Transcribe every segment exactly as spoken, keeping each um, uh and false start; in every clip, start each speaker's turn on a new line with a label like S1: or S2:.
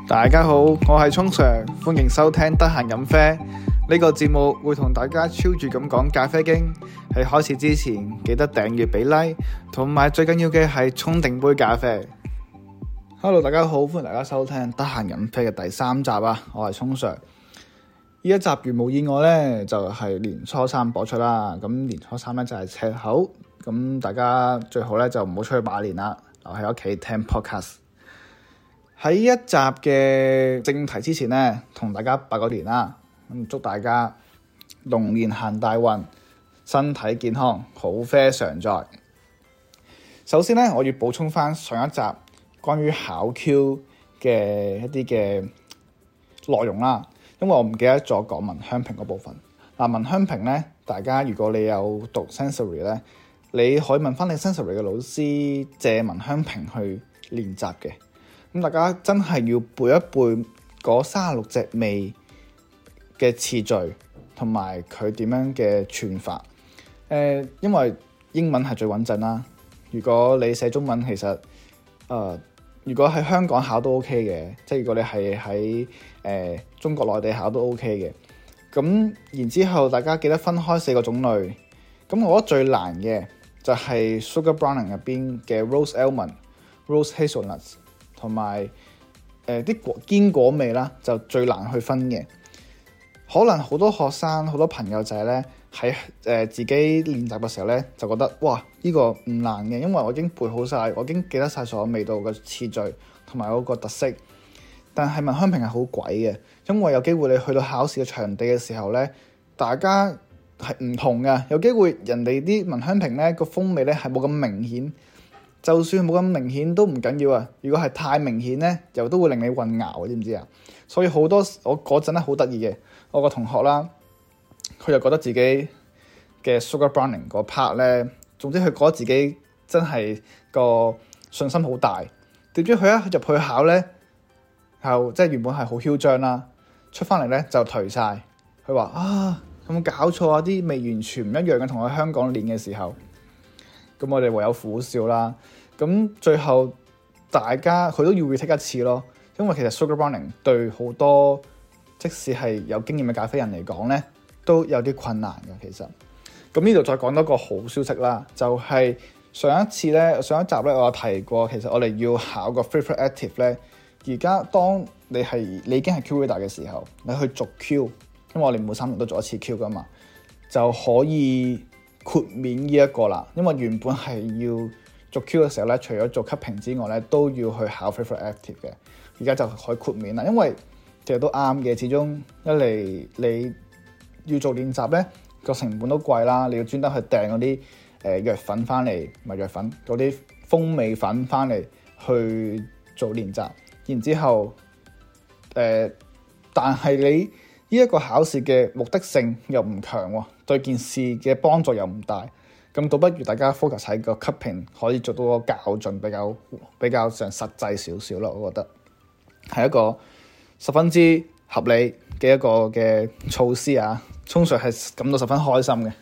S1: 大家好，我係聰 Sir， 歡迎收聽得閒飲啡呢個節目，會同大家超住咁講咖啡經。喺開始之前，記得訂閱俾 like， 同埋最緊要嘅係沖定杯咖啡。Hello， 大家好，歡迎大家收聽得閒飲啡嘅第三集啊！我係聰 Sir。呢一集如無意外呢，就係、是、年初三播出啦。咁年初三呢，就係赤口，咁大家最好呢，就唔好出去拜年啦，留喺屋企聽 podcast。喺一集嘅正題之前呢，同大家拜個年啦，咁祝大家龍年行大運，身體健康，好啡常在。首先呢，我要補充翻上一集關於考 Q 嘅一啲嘅內容啦，因為我唔記得咗講聞香評嗰部分。嗱，聞香評呢，大家如果你有讀 sensory 呢，你可以問翻你 sensory 嘅老師借聞香評去練習嘅。咁大家真係要背一背嗰三十六隻味嘅次序，同埋佢點樣嘅串法。誒、呃，因為英文係最穩陣啦。如果你寫中文，其實誒、呃，如果喺香港考都 OK 嘅，即係如果你係喺誒中國內地考都 OK 嘅。咁然之後，大家記得分開四個種類。咁我覺得最難嘅就係 Sugar Browning 入邊嘅 Rose Almond、Rose Hazelnuts。同埋誒啲果堅果味啦，就最難去分嘅。可能好多學生、好多朋友仔咧喺誒自己練習嘅時候咧，就覺得哇呢、呢個唔難嘅，因為我已經背好晒，我已經記得晒所有味道嘅次序同埋嗰個特色。但係聞香評係好鬼嘅，因為有機會你去到考試嘅場地嘅時候咧，大家係唔同嘅。有機會人哋啲聞香評咧個風味咧係冇咁明顯。就算冇咁明顯都唔緊要啊！如果係太明顯咧，又都會令你混淆，知唔知啊？所以好多我嗰陣咧好得意嘅，我個同學啦，佢就覺得自己嘅 Sugar Browning 嗰 part 咧，總之佢覺得自己真係個信心好大。點知佢一入去考咧，就即係原本係好囂張啦，出翻嚟咧就頹晒。佢話啊，有冇搞錯啊？啲味完全唔一樣嘅，同我喺香港練嘅時候。咁我哋唯有苦笑啦。咁最後大家佢都要 retake 一次咯，因為其實 Sugar Browning 對好多即使係有經驗嘅咖啡人嚟講咧，都有啲困難嘅。其實咁呢度再講多個好消息啦，就係、是、上一次咧，上一集咧，我有提過，其實我哋要考個 Favorite Active 咧，而家當你係你已經係 Q Reader 嘅時候，你去續 Q，因為我哋每三年都做一次 Q 噶嘛，就可以豁免呢一個啦，因為原本係要續 Q 嘅時候咧，除咗做級評之外咧，都要去考 Favorite Active 嘅。而家就可以豁免啦，因為其實都啱嘅。始終一嚟你要做練習咧，個成本都貴啦，你要專登去訂嗰啲誒藥粉翻嚟，唔係藥粉嗰啲風味粉翻嚟去做練習。然之後誒、呃，但係你呢一個考試嘅目的性又唔強喎。對件事嘅幫助又唔大，咁倒不如大家 focus 喺個級評可以做到個校準比較比較上實際少少咯，我覺得係一個十分之合理嘅一個嘅措施啊，通常係感到十分開心嘅。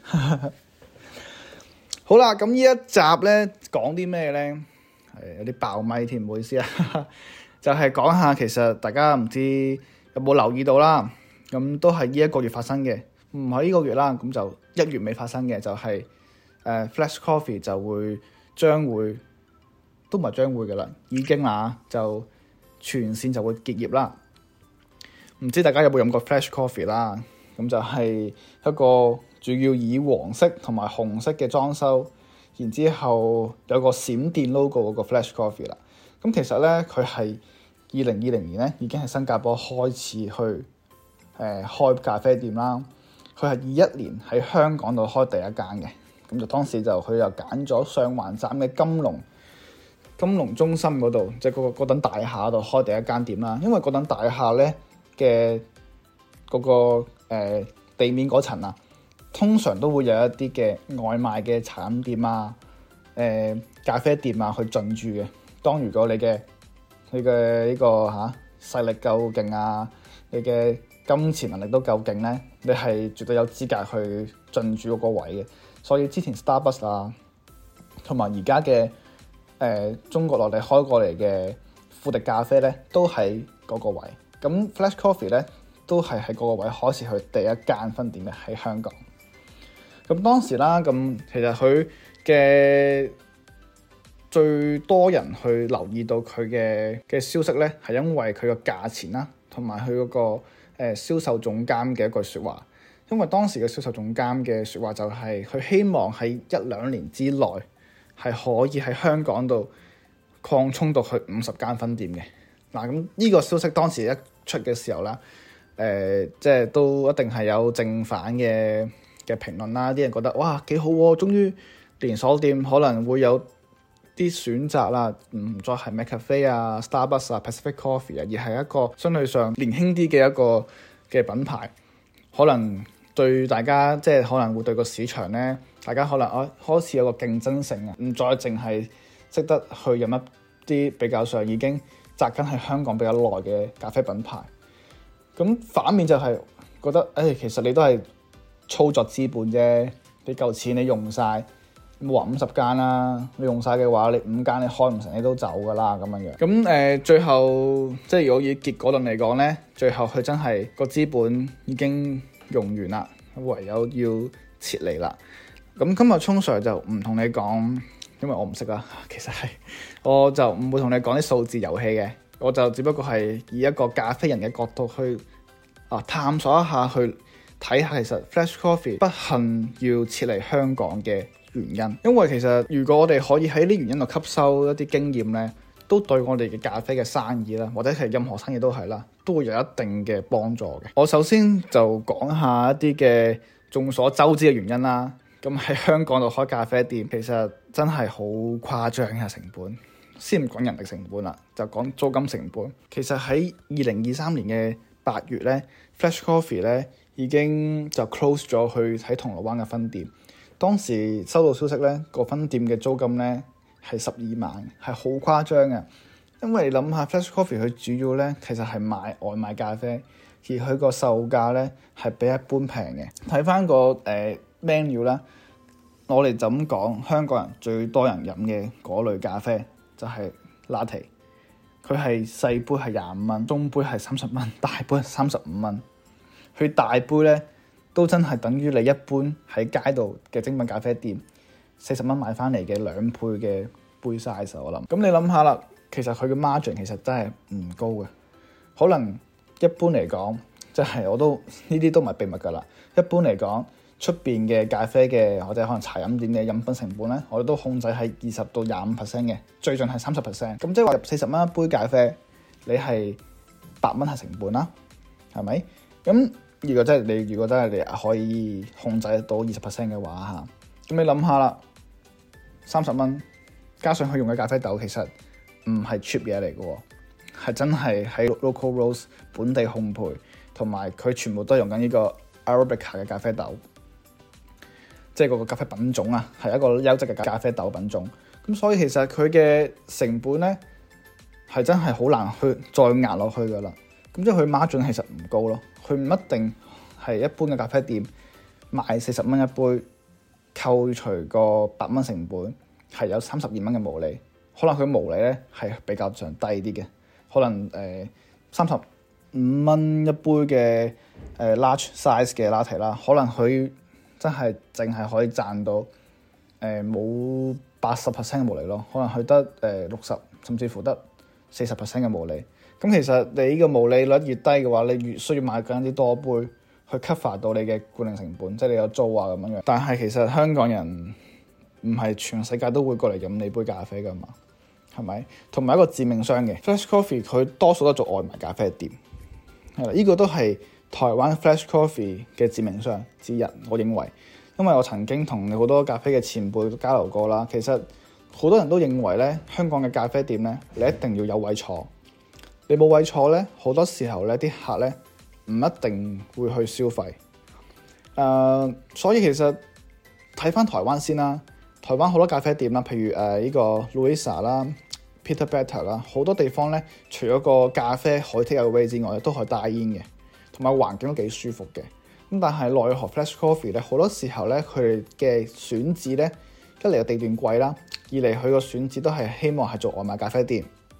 S1: 好啦，咁呢一集咧講啲咩咧？係有啲爆咪添，唔好意思啊。就係講下其實大家唔知有冇留意到啦，咁都係呢一個月發生嘅。唔係呢個月啦，咁就一月尾發生嘅就係、是、誒、呃、Flash Coffee 就會將會都唔係將會嘅啦，已經啦就全線就會結業啦。唔知大家有冇飲過 Flash Coffee 啦？咁就係一個主要以黃色同埋紅色嘅裝修，然之後有個閃電 logo 嗰個 Flash Coffee 啦。咁其實咧佢係二零二零年咧已經喺新加坡開始去誒、呃、開咖啡店啦。佢係二一年喺香港度開第一間嘅，咁就當時就佢又揀咗上環站嘅金龍金龍中心嗰度，即係嗰個嗰等大廈度開第一間店啦。因為嗰等大廈咧嘅嗰個、呃、地面嗰層啊，通常都會有一啲嘅外賣嘅茶飲店啊、誒、呃、咖啡店啊去進駐嘅。當如果你嘅你嘅呢個嚇勢力夠勁啊，你嘅金錢能力都夠勁咧，你係絕對有資格去進駐嗰個位嘅。所以之前 Starbucks 啊，同埋而家嘅誒中國內地開過嚟嘅富迪咖啡咧都喺嗰個位。咁 Flash Coffee 咧都係喺嗰個位開始佢第一間分店嘅喺香港。咁當時啦，咁其實佢嘅最多人去留意到佢嘅嘅消息咧，係因為佢個價錢啦，同埋佢嗰個誒、呃、銷售總監嘅一句説話。因為當時嘅銷售總監嘅説話就係、是、佢希望喺一兩年之內係可以喺香港度擴充到去五十間分店嘅。嗱，咁呢個消息當時一出嘅時候啦，誒、呃，即係都一定係有正反嘅嘅評論啦。啲人覺得哇幾好喎、啊，終於連鎖店可能會有啲選擇啦，唔再係 McCafe 啊、Starbucks 啊、Pacific Coffee 啊，而係一個相對上年輕啲嘅一個嘅品牌，可能對大家即係可能會對個市場咧，大家可能啊開始有個競爭性啊，唔再淨係識得去飲一啲比較上已經紮根喺香港比較耐嘅咖啡品牌。咁反面就係覺得誒、哎，其實你都係操作資本啫，你嚿錢你用晒，冇話五十間啦，你用晒嘅話，你五間你開唔成，你都走噶啦咁樣樣。咁誒、呃，最後即係如果以結果論嚟講咧，最後佢真係個資本已經用完啦，唯有要撤離啦。咁今日聰 Sir 就唔同你講，因為我唔識啦。其實係我就唔會同你講啲數字遊戲嘅，我就只不過係以一個咖啡人嘅角度去啊探索一下，去睇下其實 Flash Coffee 不幸要撤離香港嘅原因。因為其實如果我哋可以喺呢原因度吸收一啲經驗咧，都對我哋嘅咖啡嘅生意啦，或者係任何生意都係啦，都會有一定嘅幫助嘅。我首先就講下一啲嘅眾所周知嘅原因啦。咁喺香港度開咖啡店，其實真係好誇張嘅成本。先唔講人力成本啦，就講租金成本。其實喺二零二三年嘅八月咧，Flash Coffee 咧已經就 close 咗去喺銅鑼灣嘅分店。當時收到消息咧，個分店嘅租金咧係十二萬，係好誇張嘅。因為你諗下 Flash Coffee 佢主要咧其實係賣外賣咖啡，而佢個售價咧係比一般平嘅。睇翻個誒、呃、menu 啦，我哋就咁講，香港人最多人飲嘅嗰類咖啡就係 Latte， 佢係細杯係廿五蚊，中杯係三十蚊，大杯係三十五蚊。佢大杯咧都真係等於你一般喺街度嘅精品咖啡店四十蚊買翻嚟嘅兩倍嘅杯 size。我諗咁你諗下啦，其實佢嘅 margin 其實真係唔高嘅。可能一般嚟講，即係我都呢啲都唔係秘密㗎啦。一般嚟講，出邊嘅咖啡嘅或者可能茶飲店嘅飲品成本咧，我哋都控制喺二十到廿五 percent 嘅，最盡係三十 percent。咁即係話入四十蚊一杯咖啡，你係八蚊係成本啦，係咪？咁如果真係你，如果真係你可以控制得到二十 percent 嘅話嚇，咁你諗下啦，三十蚊加上佢用嘅咖啡豆，其實唔係 cheap 嘢嚟嘅喎，係真係喺 local roast 本地烘焙，同埋佢全部都係用緊呢個 Arabica 嘅咖啡豆。即係嗰個咖啡品種啊，係一個優質嘅咖啡豆品種。咁所以其實佢嘅成本咧係真係好難去再壓落去噶啦。咁即係佢 margin 其實唔高咯。佢唔一定係一般嘅咖啡店賣四十蚊一杯，扣除個八蚊成本係有三十二蚊嘅毛利。可能佢毛利咧係比較上低啲嘅，可能誒三十五蚊一杯嘅誒、呃、large size 嘅 latte 啦，可能佢真係淨係可以賺到誒冇八十 percent 嘅毛利咯，可能佢得誒六十甚至乎得四十 percent 嘅毛利。咁其實你呢個毛利率越低嘅話，你越需要買緊啲多杯去 cover 到你嘅管理成本，即係你有租啊咁樣樣。但係其實香港人唔係全世界都會過嚟飲你杯咖啡噶嘛，係咪？同埋一個致命傷嘅 Flash Coffee，佢多數都做外賣咖啡店，係啦，呢個都係台灣 Flash Coffee 嘅致命傷之一，我認為，因為我曾經同好多咖啡嘅前輩交流過啦，其實好多人都認為咧，香港嘅咖啡店咧，你一定要有位坐，你冇位坐咧，好多時候咧，啲客咧唔一定會去消費。誒、呃，所以其實睇翻台灣先啦，台灣好多咖啡店啦，譬如誒呢、呃這個 Louisa 啦、Peter Better 啦，好多地方咧，除咗個咖啡可以 take away 之外，都可以帶煙嘅。同埋環境都幾舒服嘅，咁但係奈何 Flash Coffee 咧，好多時候咧佢哋嘅選址咧，一嚟個地段貴啦，二嚟佢個選址都係希望係做外賣咖啡店，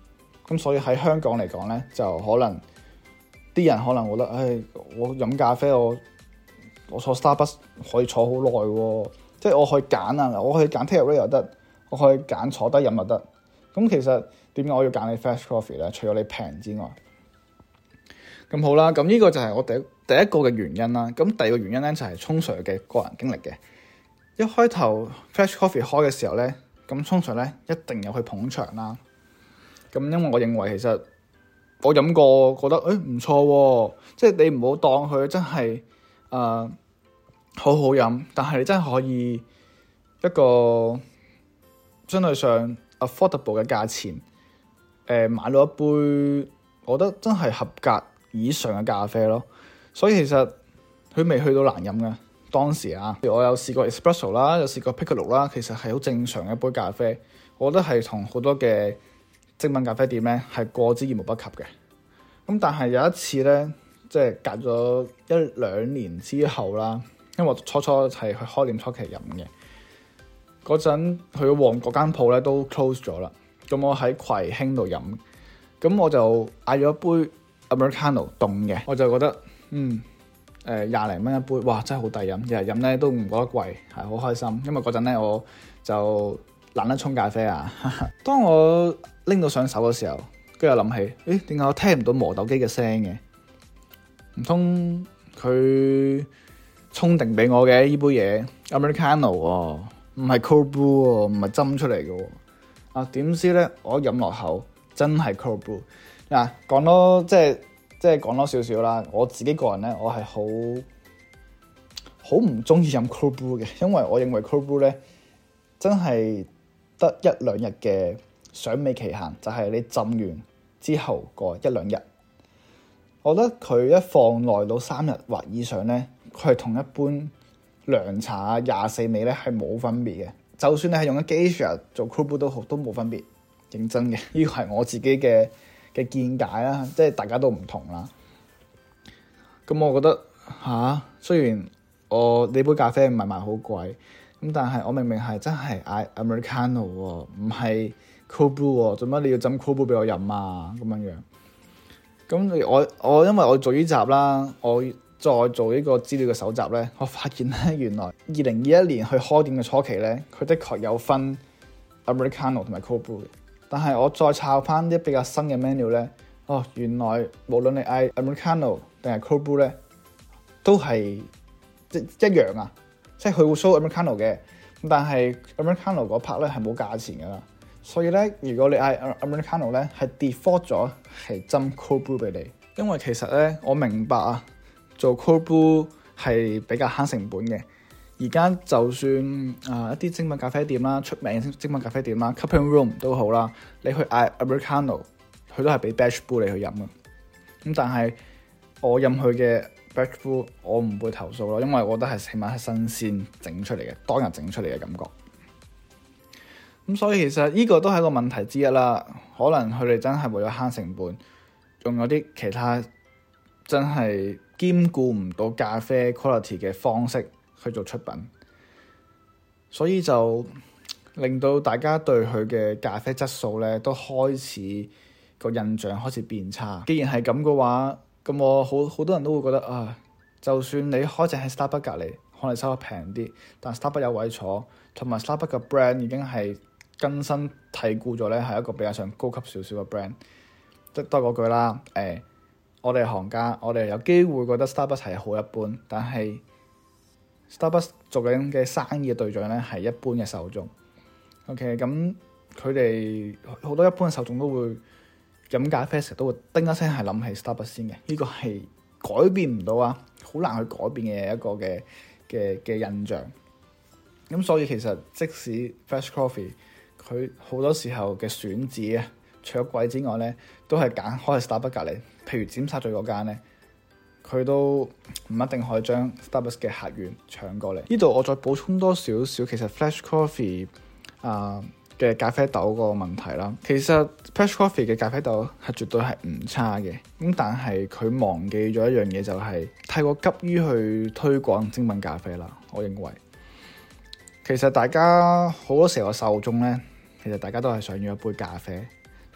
S1: 咁所以喺香港嚟講咧，就可能啲人可能覺得，唉，我飲咖啡我我坐 Starbucks 可以坐好耐喎，即係我可以揀啊，我可以揀 take away 又得，我可以揀坐低飲又得。咁其實點解我要揀你 Flash Coffee 咧？除咗你平之外，咁好啦，咁呢個就係我第一第一個嘅原因啦。咁第二個原因咧就係沖 Sir 嘅個人經歷嘅。一開頭 Flash Coffee 開嘅時候咧，咁沖 Sir 咧一定有去捧場啦。咁因為我認為其實我飲過覺得誒唔錯喎，即係你唔好當佢真係誒、呃、好好飲，但係你真係可以一個相對上 affordable 嘅價錢誒、呃、買到一杯我覺得真係合格以上嘅咖啡咯。所以其實佢未去到難飲嘅。當時啊，我有試過 espresso 啦，有試過 piccolo 啦，其實係好正常嘅一杯咖啡。我覺得係同好多嘅精品咖啡店咧係過之而無不及嘅。咁但係有一次咧，即係隔咗一兩年之後啦，因為我初初係去開店初期飲嘅嗰陣，佢旺角間鋪咧都 close 咗啦。咁我喺葵興度飲，咁我就嗌咗一杯 Americano 凍嘅，我就覺得嗯。誒廿零蚊一杯，哇！真係好抵飲，日日飲咧都唔覺得貴，係好開心。因為嗰陣咧我就懶得沖咖啡啊。當我拎到上手嘅時候，跟住我諗起，誒點解我聽唔到磨豆機嘅聲嘅？唔通佢沖定俾我嘅呢杯嘢 Americano 喎，唔係 cold brew 喎，唔係斟出嚟嘅喎。啊點知咧，我飲落口真係 cold brew。嗱講多即係。即係講多少少啦，我自己個人咧，我係好好唔中意飲 cold brew 嘅，因為我認為 cold brew 咧真係得一兩日嘅賞味期限，就係、是、你浸完之後個一兩日。我覺得佢一放耐到三日或以上咧，佢係同一般涼茶廿四味咧係冇分別嘅。就算你係用緊 Geisha 做 cold brew 都好，都冇分別。認真嘅，呢個係我自己嘅嘅見解啦，即係大家都唔同啦。咁我覺得吓、啊，雖然我呢杯咖啡唔係賣好貴，咁但係我明明係真係嗌 Americano 喎，唔係 cold brew 喎，做乜你要斟 cold brew 俾我飲啊？咁樣樣。咁我我因為我做呢集啦，我再做呢個資料嘅搜集咧，我發現咧原來二零二一年去開店嘅初期咧，佢的確有分 Americano 同埋 cold brew 嘅。但係我再抄翻啲比較新嘅 menu 咧，哦，原來無論你嗌 Americano 定係 cold brew 咧，都係即一樣啊！即係佢會 show Americano 嘅，但係 Americano 嗰 part 咧係冇價錢噶啦。所以咧，如果你嗌 Americano 咧，係 default 咗係斟 cold brew 俾你。因為其實咧，我明白啊，做 cold brew 係比較慳成本嘅。而家就算啊、呃、一啲精品咖啡店啦，出名嘅精品咖啡店啦 Cupping Room 都好啦，你去嗌 Americano，佢都係俾 batch brew 你去飲嘅。咁但係我飲佢嘅 batch brew，我唔會投訴咯，因為我覺得係起碼係新鮮整出嚟嘅，當日整出嚟嘅感覺。咁所以其實呢個都係一個問題之一啦。可能佢哋真係為咗慳成本，仲有啲其他真係兼顧唔到咖啡 quality 嘅方式去做出品，所以就令到大家對佢嘅咖啡質素咧都開始個印象開始變差。既然係咁嘅話，咁我好好多人都會覺得啊，就算你開正喺 Starbucks 隔離，可能收得平啲，但 Starbucks 有位坐，同埋 Starbucks 嘅 brand 已經係根深蒂固咗咧，係一個比較上高級少少嘅 brand。即多嗰句啦，誒、欸，我哋行家，我哋有機會覺得 Starbucks 係好一般，但係 Starbucks 做緊嘅生意嘅對象咧係一般嘅受眾。OK，咁佢哋好多一般嘅受眾都會飲咖啡時都會叮一聲係諗起 Starbucks 先嘅，呢、這個係改變唔到啊，好難去改變嘅一個嘅嘅嘅印象。咁所以其實即使 Flash Coffee 佢好多時候嘅選址啊，除咗貴之外咧，都係揀開喺 Starbucks 隔離，譬如尖沙咀嗰間咧。佢都唔一定可以將 Starbucks 嘅客源搶過嚟。呢度我再補充多少少，其實 Flash Coffee 啊、呃、嘅咖啡豆個問題啦。其實 Flash Coffee 嘅咖啡豆係絕對係唔差嘅，咁但係佢忘記咗一樣嘢，就係太過急於去推廣精品咖啡啦。我認為其實大家好多時候受眾咧，其實大家都係想要一杯咖啡。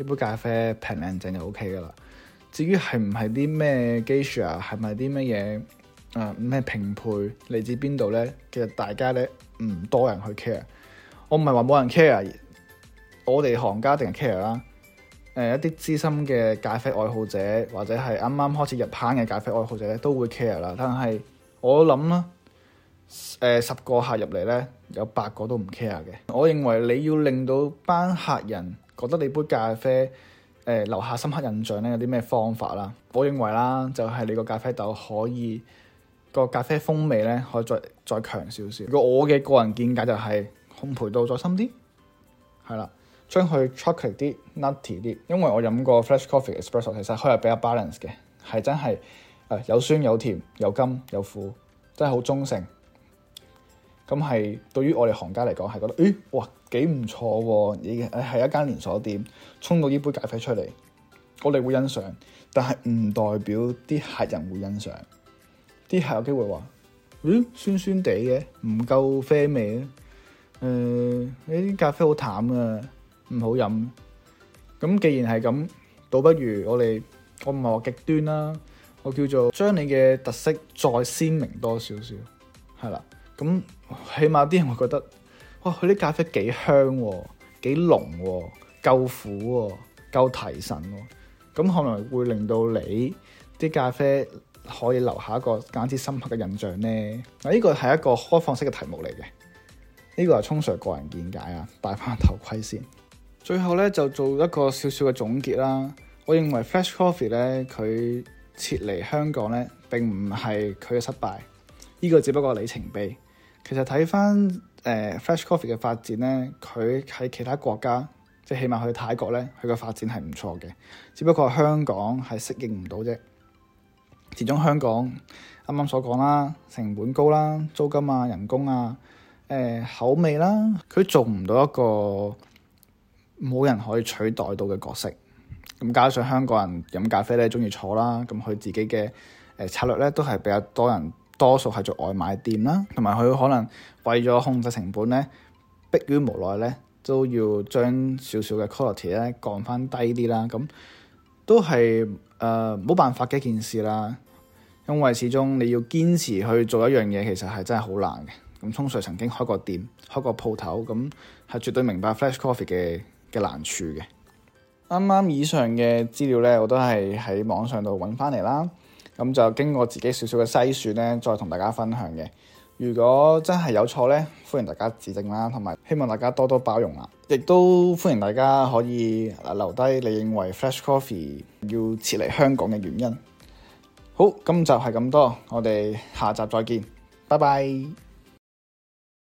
S1: 呢杯咖啡平靚正就 O K 噶啦。至於係唔係啲咩 geisha，係咪啲乜嘢誒咩拼配嚟自邊度咧？其實大家咧唔多人去 care。我唔係話冇人 care，我哋行家一定係 care 啦。誒、呃、一啲資深嘅咖啡愛好者，或者係啱啱開始入坑嘅咖啡愛好者咧，都會 care 啦。但係我諗啦，誒、呃、十個客入嚟咧，有八個都唔 care 嘅。我認為你要令到班客人覺得你杯咖啡誒、呃、留下深刻印象咧，有啲咩方法啦？我認為啦，就係、是、你個咖啡豆可以個咖啡風味咧，可以再再強少少。如果我嘅個人見解就係烘焙度再深啲，係啦。將佢 chocolate 啲 nutty 啲，因為我飲過 flash coffee espresso， 其實佢係比較 balance 嘅，係真係誒有酸有甜有甘有苦，真係好中性。咁係對於我哋行家嚟講係覺得，誒哇幾唔錯喎！你係一間連鎖店，沖到呢杯咖啡出嚟，我哋會欣賞，但係唔代表啲客人會欣賞。啲客有機會話，誒酸酸地嘅，唔夠啡味啊！誒呢啲咖啡好淡啊！唔好飲，咁既然係咁，倒不如我哋，我唔係話極端啦，我叫做將你嘅特色再鮮明多少少，係啦，咁起碼啲人會覺得，哇，佢啲咖啡幾香喎，幾濃喎，夠苦喎，夠提神喎，咁可能會令到你啲咖啡可以留下一個簡直深刻嘅印象呢。嗱，呢個係一個開放式嘅題目嚟嘅，呢個係聰 Sir 個人見解啊，戴翻頭盔先。最後咧就做一個少少嘅總結啦。我認為 Flash Coffee 咧佢撤離香港咧並唔係佢嘅失敗，呢、這個只不過係里程碑。其實睇翻誒 Flash Coffee 嘅發展咧，佢喺其他國家，即係起碼去泰國咧，佢嘅發展係唔錯嘅。只不過香港係適應唔到啫。始終香港啱啱所講啦，成本高啦，租金啊、人工啊、誒、呃、口味啦，佢做唔到一個冇人可以取代到嘅角色，咁加上香港人飲咖啡咧，中意坐啦，咁佢自己嘅誒策略咧，都係比較多人，多數係做外賣店啦，同埋佢可能為咗控制成本咧，迫於無奈咧，都要將少少嘅 quality 咧降翻低啲啦，咁都係誒冇辦法嘅一件事啦，因為始終你要堅持去做一樣嘢，其實係真係好難嘅。咁聰 Sir 曾經開過店，開過鋪頭，咁係絕對明白 Flash Coffee 嘅嘅難處嘅。啱啱以上嘅資料咧，我都係喺網上度揾翻嚟啦。咁就經過自己少少嘅篩選咧，再同大家分享嘅。如果真係有錯咧，歡迎大家指正啦，同埋希望大家多多包容啦。亦都歡迎大家可以留低你認為 Flash Coffee 要撤離香港嘅原因。好，今集係咁多，我哋下集再見，拜拜。